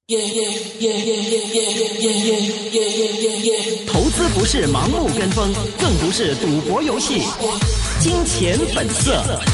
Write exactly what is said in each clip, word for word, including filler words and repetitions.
投資不是盲目跟風，更不是賭博遊戲。金錢本色。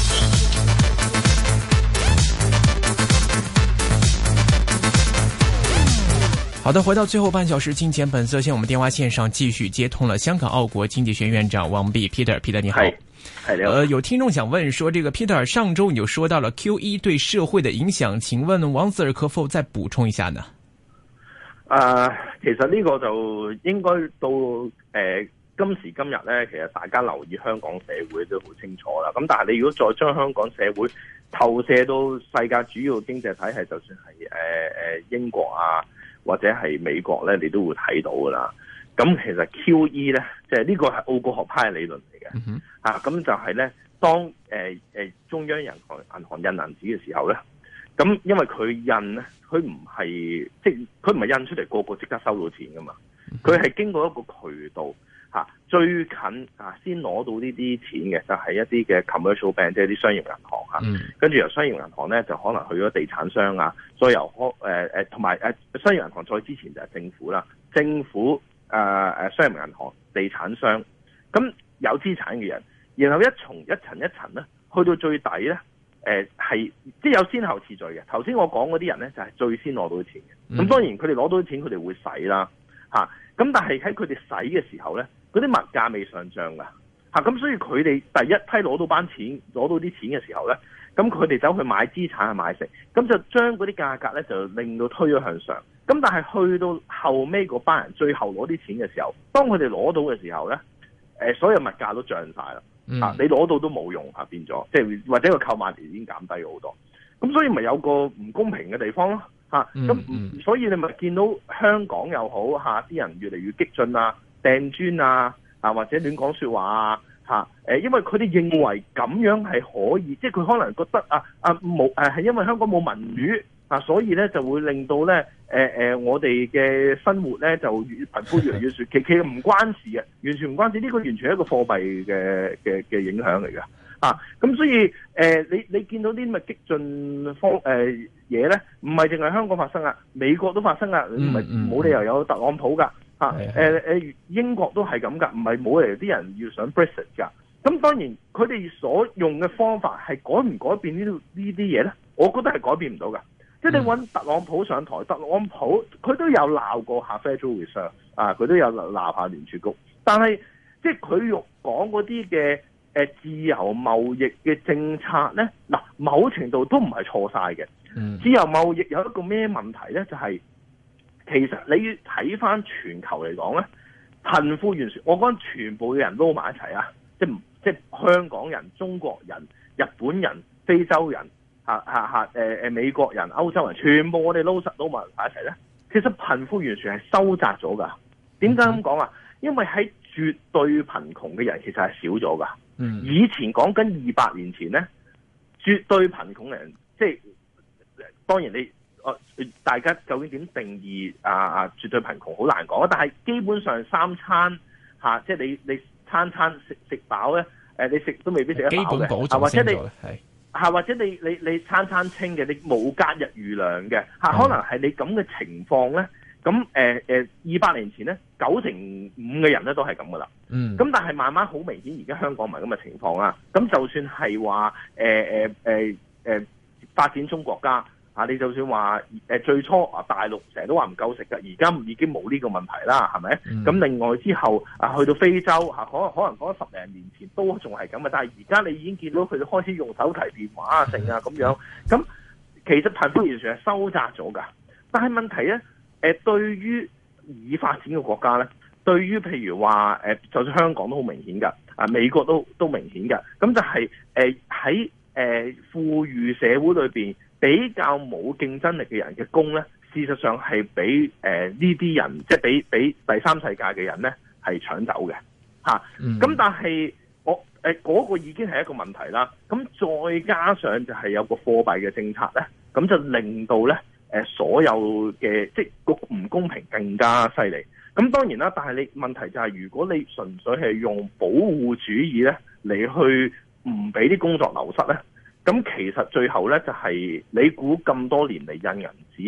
好的，回到最後半小時，金錢本色。現在我們電話線上繼續接通了香港澳國經濟學院院長王弼 Peter，Peter 你好。 係呃，有聽眾想問說，這個 Peter 上周你就說到了 Q E 對社會的影響，請問王 Sir 可否再補充一下呢？ 啊、呃，其實呢個就應該到誒、呃、今時今日咧，其實大家留意香港社會都好清楚啦。咁但係你如果再將香港社會投射到世界主要經濟體系，就算係誒誒英國啊或者係美國咧，你都會睇到噶啦。咁其實 Q E 咧，即係呢個係奧國學派嘅理論嚟嘅。 嗯啊，咁就係咧，當誒誒、呃、中央銀行銀行印銀紙嘅時候咧，咁因為佢印咧，佢唔係即係佢唔係印出嚟個個即刻收到錢噶嘛，佢係經過一個渠道嚇、啊、最近啊先攞到呢啲錢嘅，就係、是、一啲嘅 commercial bank， 即係啲商業銀行嚇，嗯、跟住由商業銀行咧就可能去咗地產商啊，再由誒誒同埋誒商業銀行再之前就係政府啦，政府。誒誒、呃，商業銀行、地產商，咁有資產嘅人，然後一重一層一層咧，去到最底咧，誒、呃、係即係有先後次序嘅。頭先我講嗰啲人咧，就係、是、最先攞到錢嘅。咁、嗯、當然佢哋攞到錢，佢哋會使啦，嚇、啊。咁但係喺佢哋使嘅時候咧，嗰啲物價未上漲噶，嚇、啊。咁所以佢哋第一批攞到班錢，攞到啲錢嘅時候咧，咁佢哋走去買資產去買食，咁就將嗰啲價格咧就令到推咗向上。咁但係去到後尾嗰班人最後攞啲錢嘅時候，當佢哋攞到嘅時候咧，誒所有物價都漲晒啦，嗯、啊你攞到都冇用啊，變咗即係或者個購買力已經減低好多，咁所以咪有個唔公平嘅地方咯，嚇咁、嗯嗯、所以你咪見到香港又好嚇，啲、啊、人越嚟越激進啊，掟磚啊，啊或者亂講説話啊，嚇誒，因為佢哋認為咁樣係可以，即係佢可能覺得啊啊冇誒係因為香港冇民主。啊，所以咧就會令到咧，誒、呃、誒，我哋嘅生活咧就越貧富越嚟越其其實唔關事嘅，完全唔關事。呢、這個完全係一個貨幣嘅嘅嘅影響嚟㗎。啊，咁所以誒、呃，你你見到啲咁嘅激進方誒嘢咧，唔係淨係香港發生啊，美國都發生啊，唔係冇理由有特朗普㗎。嚇誒誒，英國都係咁㗎，唔係冇理由啲人要想 Brexit 㗎。咁當然佢哋所用嘅方法係改唔改變呢呢啲嘢咧？我覺得係改變唔到㗎。即係你揾特朗普上台，特朗普佢都有鬧過下 Federal Reserve 啊，佢都有鬧下聯儲局，但係即係佢用講嗰啲嘅誒自由貿易嘅政策咧，嗱某程度都唔係錯晒嘅。嗯、自由貿易有一個咩問題咧？就係、是、其實你要睇翻全球嚟講咧，貧富懸殊，我講全部嘅人撈埋一齊啊，即係即係香港人、中國人、日本人、非洲人。嚇嚇嚇！誒誒，美國人、歐洲人，全部我哋撈實撈埋一齊咧。其實貧富懸殊係收窄咗㗎。點解咁講啊？因為喺絕對貧窮嘅人其實係少咗㗎。嗯。以前講緊二百年前咧，絕對貧窮嘅人，即係當然你誒大家究竟點定義啊啊絕對貧窮好難講啊。但係基本上三餐嚇、啊，即係你你餐餐食食飽咧，誒你食都未必食得飽嘅。基本保障先咗係。嚇，或者你你你餐餐清嘅，你冇隔日餘糧嘅嚇，可能係你咁嘅情況咧。咁誒誒，二百年前咧，九成五嘅人咧都係咁噶啦。嗯。咁但係慢慢好明顯，而家香港唔係咁嘅情況啊。咁就算係話誒誒誒誒發展中國家嚇，你就算話誒最初啊大陸成日都話唔夠食㗎，而家已經冇呢個問題啦，係咪？咁、嗯、另外之後啊，去到非洲嚇，可能可能講十零年前都仲係咁嘅，但係而家你已經見到佢哋開始用手提電話啊，剩啊咁樣。咁其實貧富懸殊係收窄咗㗎，但係問題咧，誒、呃、對於已發展嘅國家咧，對於譬如話誒，就算香港都好明顯㗎，啊美國都都明顯㗎，咁就係誒喺誒富裕社會裏邊。比較冇競爭力嘅人嘅工咧，事實上係俾誒呢啲人，即係俾俾第三世界嘅人咧係搶走嘅嚇。咁、啊嗯、但係我誒嗰、呃嗰個已經係一個問題啦。咁再加上就係有個貨幣嘅政策咧，咁就令到咧誒、呃、所有嘅即係個唔公平更加犀利。咁當然啦，但係你問題就係、是、如果你純粹係用保護主義咧嚟去唔俾啲工作流失咧。咁其實最後咧就係、是、你估咁多年嚟印銀紙，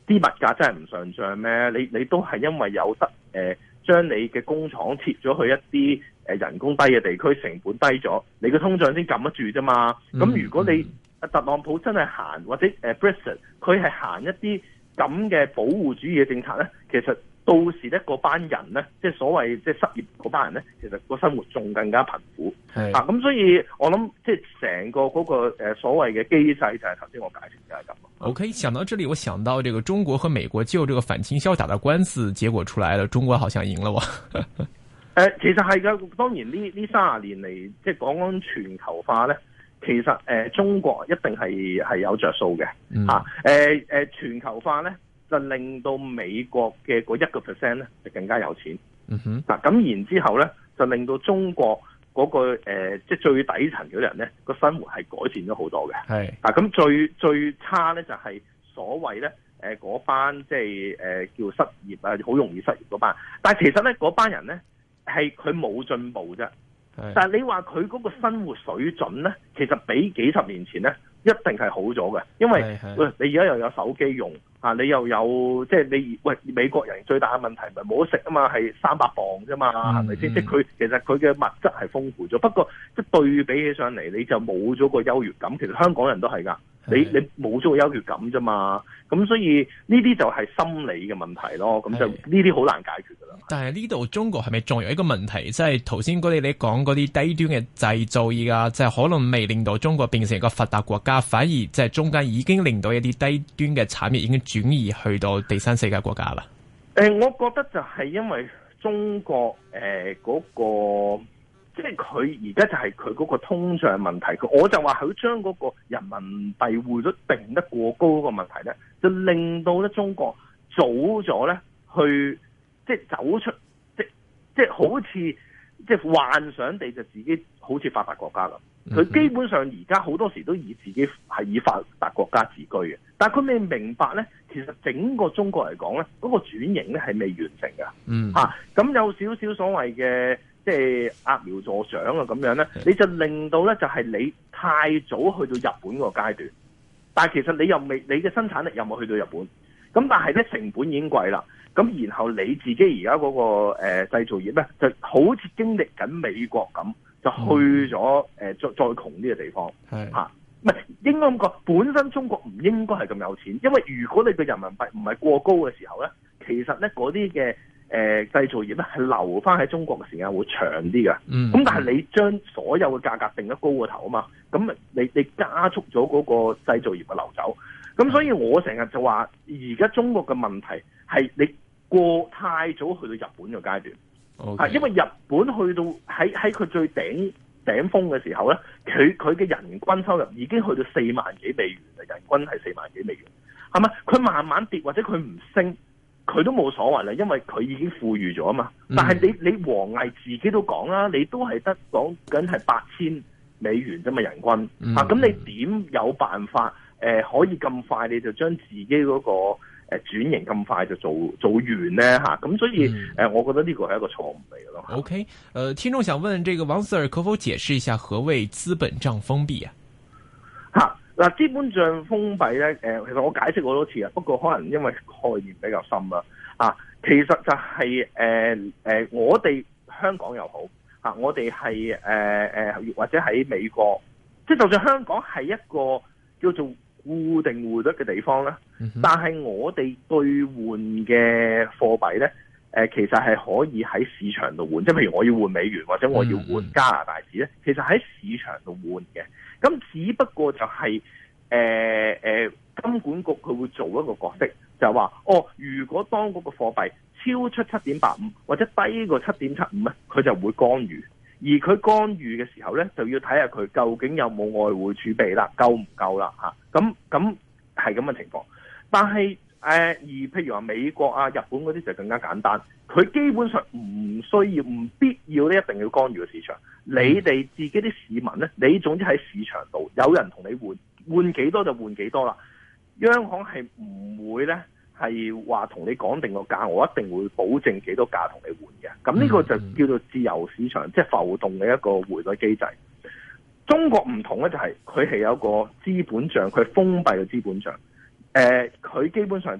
啲物價真係唔上漲咩？你你都係因為有得誒將你嘅工廠撤咗去一啲誒人工低嘅地區，成本低咗，你個通脹先撳得住啫嘛。咁、嗯、如果你特朗普真係行或者誒 Brexit，佢係行一啲咁嘅保護主義嘅政策咧，其實到時咧嗰班人咧，即係所謂即係失業嗰班人咧，其實個生活仲更加貧苦。係啊，咁所以我諗即係成個嗰個誒所謂嘅機制就係頭先我解釋就係咁。 OK， 想到這裡，我想到這個中國和美國就這個反傾銷打的官司，結果出來了，中國好像贏了喎。誒、 呃，其實係噶，當然呢呢三十年嚟，即係講講全球化咧，其實誒、呃、中國一定係係有着數嘅吓。誒誒，全球化咧就令到美國嘅嗰一個 percent 咧就更加有錢。嗯哼，嗱咁然之後咧就令到中國嗰、那個誒、呃、即係最底層嗰啲人咧個生活係改善咗好多嘅。係啊，咁最最差咧就係、是、所謂咧誒嗰班即係誒、呃、叫失業啊，好容易失業嗰班。但係其實咧嗰班人咧係佢冇進步啫。但係你話佢嗰個生活水準咧，其實比幾十年前咧一定係好咗嘅，因為喂你而家又有手機用啊，你又有即係你喂美國人最大嘅問題咪冇得食啊嘛，係三百磅啫嘛，係咪先？即係佢其實佢嘅物質係豐富咗，不過即係對比起上嚟，你就冇咗個優越感。其實香港人都係㗎，你你冇咗個優越感啫嘛，咁所以呢啲就係心理嘅問題咯，咁就呢啲好難解決㗎啦。 但係呢度中國係咪仲有一個問題，即係頭先嗰啲你講嗰啲低端嘅製造而家即係可能未令到中國變成一個發達國家，反而即係中間已經令到一啲低端嘅產業已經轉移去到第三世界國家啦。 誒、呃，我覺得就係因為中國誒嗰、呃那個，即係佢而家就係佢嗰個通脹問題，我就話佢將嗰個人民幣匯率定得過高嗰個問題咧，就令到咧中國早咗咧去。即係走出，即即係好似即係幻想地就自己好似發達國家咁。佢基本上而家好多時都以自己係以發達國家自居嘅，但係佢未明白咧，其實整個中國嚟講咧，嗰、那個轉型咧係未完成嘅。嗯，嚇、啊、咁有少少所謂嘅即係揠苗助長啊咁樣咧，你就令到咧就係你太早去到日本個階段，但係其實你又未，你嘅生產力又冇去到日本，咁但係咧成本已經貴啦。咁然後你自己而家嗰個誒、呃、製造業咧，就好似經歷緊美國咁，就去咗誒、呃、再再窮啲嘅地方，係嚇，唔係應該咁講。本身中國唔應該係咁有錢，因為如果你嘅人民幣唔係過高嘅時候咧，其實咧嗰啲嘅誒製造業咧係留翻喺中國嘅時間會長啲嘅。嗯，咁但係你將所有嘅價格定得高過頭啊嘛，咁你你加速咗嗰個製造業嘅流走。咁所以我成日就話，而家中國嘅問題係你過太早去到日本嘅階段，係、okay. 因為日本去到喺喺佢最頂頂峰嘅時候咧，佢佢嘅人均收入已經去到四萬幾美元啦，人均係四萬幾美元，係咪？佢慢慢跌或者佢唔升，佢都冇所謂啦，因為佢已經富裕咗啊嘛。但係你你王毅自己都講啦，你都係得講緊係八千美元啫嘛，人均、嗯、啊，咁你點有辦法？誒、呃、可以咁快你就將自己嗰、那個誒、呃、轉型咁快就做做完咧嚇，咁、啊、所以誒、嗯呃，我覺得呢個係一個錯誤嚟嘅咯。 OK，誒、呃，聽眾想問，這個王 Sir 可否解釋一下何謂資本帳封閉啊？ 嚇嗱、啊，資本帳封閉咧，誒、呃，其實我解釋過多次啊，不過可能因為概念比較深啦。啊，其實就係誒誒，我哋香港又好啊，我哋係誒誒，或者喺美國，即係就算香港係一個叫做固定匯率嘅地方咧、嗯，但係我哋兌換嘅貨幣咧，誒、呃，其實係可以喺市場度換，即係譬如我要換美元或者我要換加拿大紙咧、嗯，其實喺市場度換嘅。咁只不過就係誒誒，金管局佢會做一個角色，就係話哦，如果當嗰個貨幣超出七點八五或者低過七點七五咧，佢就會干預。而佢干預嘅時候咧，就要睇下佢究竟有冇外匯儲備啦，夠唔夠啦嚇？咁咁係咁嘅情況。但係誒、呃，而譬如話美國啊、日本嗰啲就更加簡單，佢基本上唔需要、唔必要咧，一定要干預個市場。你哋自己啲市民咧，你總之喺市場度有人同你換，換幾多就換幾多啦。央行係唔會咧。係話同你講定個價，我一定會保證幾多價同你換嘅。咁呢個就叫做自由市場，嗯、即係浮動嘅一個匯率機制。中國唔同咧，就係佢係有個資本帳，佢係封閉嘅資本帳。誒、呃，佢基本上就係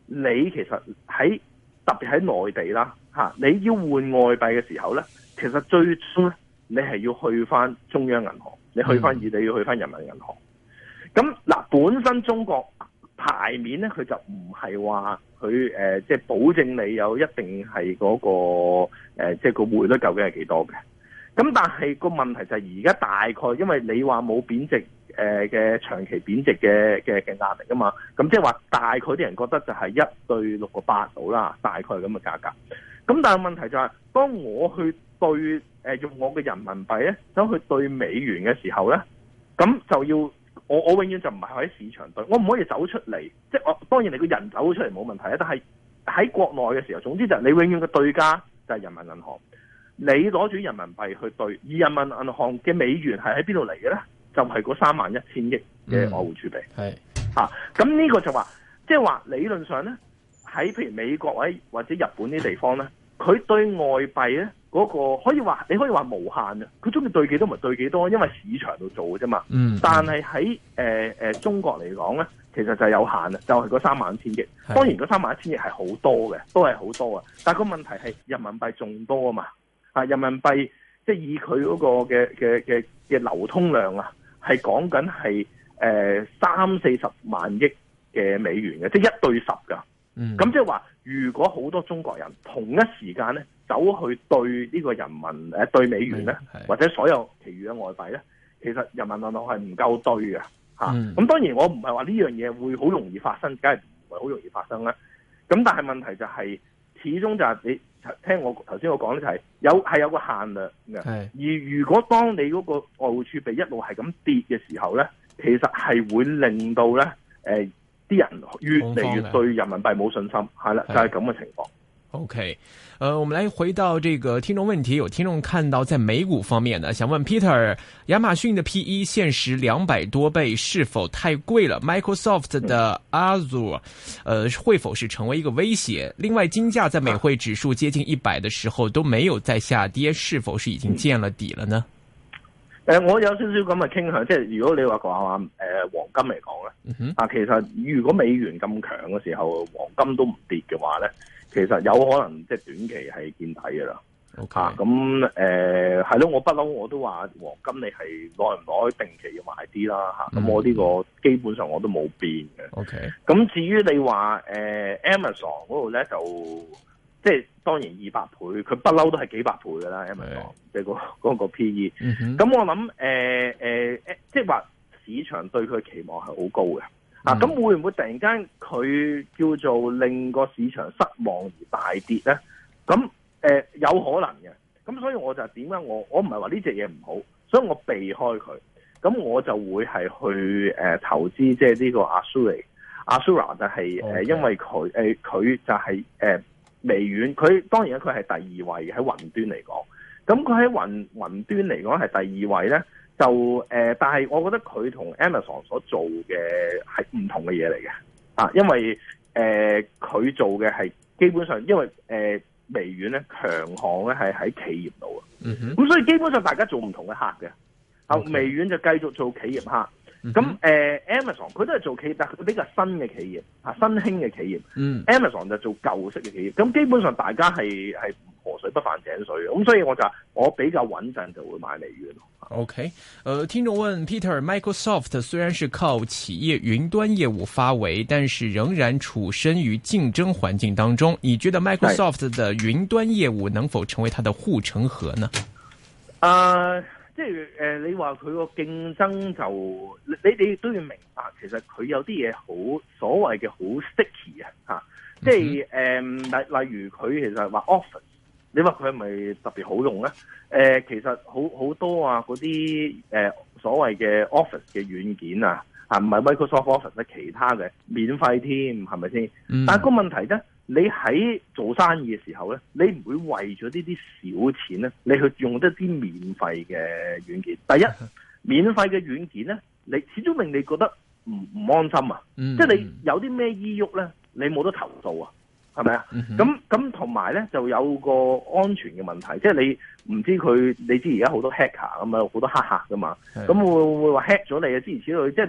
你其實喺特別喺內地啦嚇，你要換外幣嘅時候咧，其實最終咧你係要去翻中央銀行，你去翻你要去翻人民銀行。咁嗱，本身中國牌面咧，佢就唔係話佢誒，即係保證你有一定係嗰、那個誒，即、呃、係、就是、個匯率究竟係幾多嘅。咁但係個問題就係而家大概，因為你話冇貶值誒嘅、呃、長期貶值嘅嘅嘅壓力啊嘛，咁即係話大概啲人覺得就係一對六個八到啦，大概咁嘅價格。咁但係問題就係、是，當我去對誒、呃、用我嘅人民幣咧，走去對美元嘅時候咧，咁就要。我我永遠就唔係喺市場對，我唔可以走出嚟，即係我當然你個人走出嚟冇問題啊，但係喺國內嘅時候，總之就係你永遠嘅對家就係人民銀行，你攞住人民幣去對，而人民銀行嘅美元係喺邊度嚟嘅咧？就係嗰三萬一千億嘅外匯儲備，係嚇，咁呢個就話，即係話理論上咧，喺譬如美國或者或者日本啲地方咧，佢對外幣咧。嗰、那個可以話，你可以話無限啊！佢中意對幾多咪對幾多，因為市場度做嘅啫嘛。嗯。但係喺誒誒中國嚟講咧，其實就係有限啊，就係、是、嗰三萬一千億。當然嗰三萬一千億係好多嘅，都係好多啊。但係個問題係人民幣仲多啊嘛。啊，人民幣即係以佢嗰個嘅嘅嘅嘅流通量啊，係講緊係誒三四十萬億嘅美元嘅，即係一對十㗎。嗯。咁即係話，如果好多中國人同一時間咧，走去對呢個人民誒對美元咧，或者所有其餘嘅外幣咧，其實人民銀行係唔夠對嘅嚇。咁、嗯、當然我唔係話呢樣嘢會好容易發生，梗係唔係好容易發生啦。咁但係問題就係、是，始終就係你聽我頭先我講咧，就係有係有個限量嘅。而如果當你嗰個外匯儲備一路係咁跌嘅時候咧，其實係會令到咧誒啲人越嚟越對人民幣冇信心，係啦，就係咁嘅情況。 OK，呃，我們來回到這個聽眾問題，有聽眾看到在美股方面呢，想問 Peter，亞馬遜的 P E 現時兩百多倍是否太貴了 ？Microsoft 的 Azure，呃，會否是成為一個威脅？另外，金價在美匯指數接近一百的時候都沒有再下跌，是否是已經見了底了呢？ 誒、呃，我有少少咁嘅傾向，即係如果你話講話誒黃金嚟講咧，啊、嗯，其實如果美元咁強嘅時候，黃金都唔跌嘅話咧。其實有可能即係短期係見底嘅啦。OK，咁誒係咯，我不嬲我都話黃金你係耐唔耐定期要買啲啦嚇。咁、嗯、我呢個基本上我都冇變嘅。OK，咁至於你話誒、呃、Amazon 嗰度咧，就即係當然二百倍，佢不嬲都係幾百倍㗎啦。Amazon 即係個嗰個 P E。咁、嗯、我諗誒誒即係話市場對佢期望係好高嘅。啊，咁會唔會突然間佢叫做令個市場失望而大跌咧？咁誒、呃、有可能嘅，咁所以我就點解我我唔係話呢隻嘢唔好，所以我避開佢，咁我就會係去誒、呃、投資即係呢個 Azure，Azure 就係、是、誒、okay. 呃、因為佢誒佢就係、是、誒、呃、微軟，佢當然佢係第二位喺雲端嚟講，咁佢喺雲雲端嚟講係第二位咧。就誒、呃，但係我覺得佢同 Amazon 所做嘅係唔同嘅嘢嚟嘅，啊，因為誒佢、呃、做嘅係基本上，因為誒、呃、微軟咧強項咧係喺企業度啊，咁、嗯、所以基本上大家做唔同嘅客嘅，啊、okay. 微軟就繼續做企業客，咁、嗯、誒、呃、Amazon 佢都係做企業，但係佢比較新嘅企業，啊新興嘅企業、嗯、，Amazon 就做舊式嘅企業，咁基本上大家係係河水不犯井水，咁所以我就我比較穩陣就會買微軟。 OK，呃，聽眾問 Peter，Microsoft 雖然是靠企業雲端業務發圍，但是仍然處身於競爭環境當中。你覺得 Microsoft 的雲端業務能否成為它的護城河呢？ 啊，即係誒，你話佢個競爭就你你都要明白，其實佢有啲嘢好所謂嘅好 sticky 啊，吓，即係誒例例如佢其實話 Office。你話佢係咪特別好用咧？誒、呃，其實好好多啊，嗰啲誒所謂嘅 Office 嘅軟件啊，啊唔係 Microsoft Office 咧，其他嘅免費添，係咪先？但係個問題咧，你喺做生意嘅時候咧，你唔會為咗呢啲小錢咧，你去用一啲免費嘅軟件。第一，免費嘅軟件咧，你始終令你覺得唔唔安心啊！嗯、即係你有啲咩依郁咧，你冇得投訴啊！係咪啊？咁咁同埋咧，就有個安全嘅問題，即係你唔知佢，你知而家好多 hacker 咁啊，好多黑客噶嘛，咁會會話 hack 咗你啊，諸如此類，即係你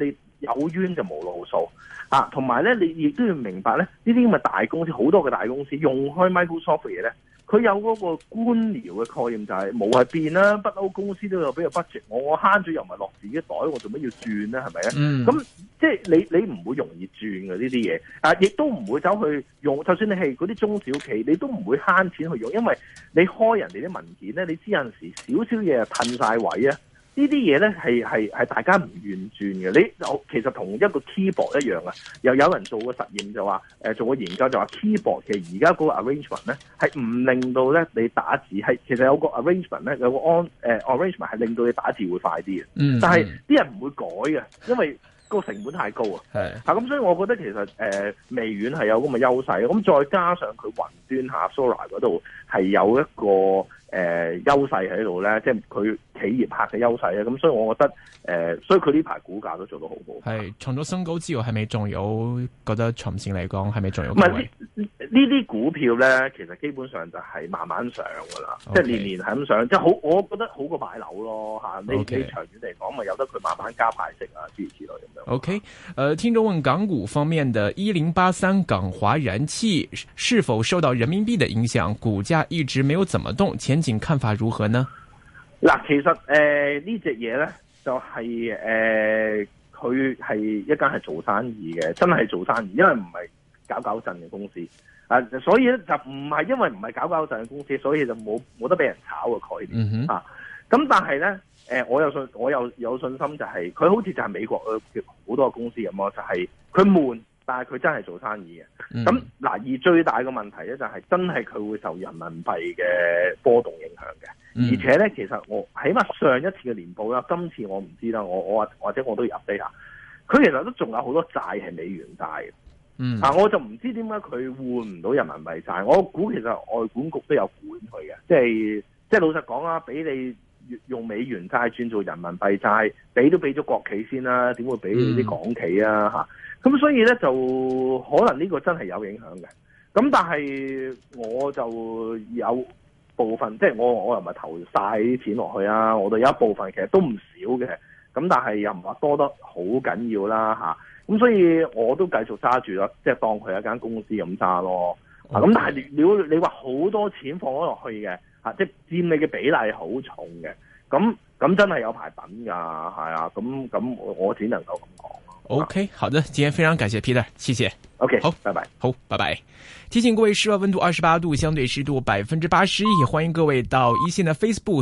有冤就無路訴啊。同埋咧，你亦都要明白咧，呢啲咁嘅大公司，好多嘅大公司用開 Microsoft 嘅嘢咧。佢有嗰個官僚嘅概念就係冇係變啦，不嬲公司都有俾個 budget，我我慳咗又唔係落自己袋，我做乜要轉咧？係咪啊？咁、嗯、即係你你唔會容易轉嘅呢啲嘢，啊，亦都唔會走去用。就算你係嗰啲中小企，你都唔會慳錢去用，因為你開人哋啲文件咧，你知有陣時少少嘢啊褪晒位啊。呢啲嘢咧係係係大家唔願轉嘅，你其實同一個 keyboard 一樣啊。又有人做過實驗就話，誒做過研究就話 keyboard 其實而家嗰個 arrangement 咧係唔令到咧你打字係其實有個 arrangement 咧有個 on 誒 arrangement 係令到你打字會快啲嘅。嗯，但係啲人唔會改嘅，因為個成本太高啊。係啊，咁所以我覺得其實誒、呃、微軟係有咁嘅優勢，咁再加上佢雲端下 Sora 嗰度係有一個。誒、呃，優勢喺度咧，即係佢企業客嘅優勢咧，咁所以我覺得誒、呃，所以佢呢排股價都做得好好。係創咗新高之後，係咪仲有覺得長線嚟講係咪仲有？唔係呢啲股票咧，其實基本上就係慢慢上噶啦，okay. 即係年年係咁上，即係好，我覺得好過買樓咯吓。你、okay. 你長遠嚟講，咪由得佢慢慢加派息啊，諸如此類咁樣。OK，誒、呃，聽眾問港股方面的一零八三港華燃氣是否受到人民幣的影響，股價一直沒有怎麼動，前景看法如何呢？嗱，其實誒、呃、呢隻嘢咧就係誒佢係一間係做生意嘅，真係做生意，因為唔係搞搞震嘅公司啊，所以咧就唔係因為唔係搞搞震嘅公司，所以就冇冇得俾人炒嘅概念、嗯、啊。咁但係咧誒，我有信我有有信心就係、是、佢好似就係美國嘅好多公司咁咯，就係佢悶。但係佢真係做生意嘅，咁、嗯、嗱，而最大嘅問題咧就係真係佢會受人民幣嘅波動影響嘅、嗯，而且咧其實我起碼上一次嘅年報啦，今次我唔知啦，我我或者我都要 update 下，佢其實都仲有好多債係美元債嘅，嗯，啊我就唔知點解佢換唔到人民幣債，我估其實外管局都有管佢嘅，即係即係老實講啦，俾你用美元債轉做人民幣債，俾都俾咗國企先啦，點會俾啲港企啊嚇？咁所以咧就可能呢個真係有影響嘅，咁但係我就有部分即係我我又唔係投晒啲錢落去啊，我哋有一部分其實都唔少嘅，咁但係又唔話多得好緊要啦嚇，咁所以我都繼續揸住啦，即係當佢係一間公司咁揸咯，咁、okay. 但係如果你話好多錢放咗落去嘅嚇，即係佔你嘅比例好重嘅，咁咁真係有排等㗎，係啊，咁咁我只能夠咁講。OK， 好的，今天非常感謝 Peter， 謝謝。OK， 好，拜拜。好，拜拜。提醒各位，室外溫度二十八度，相對濕度百分之八十一，歡迎各位到一線的 Facebook。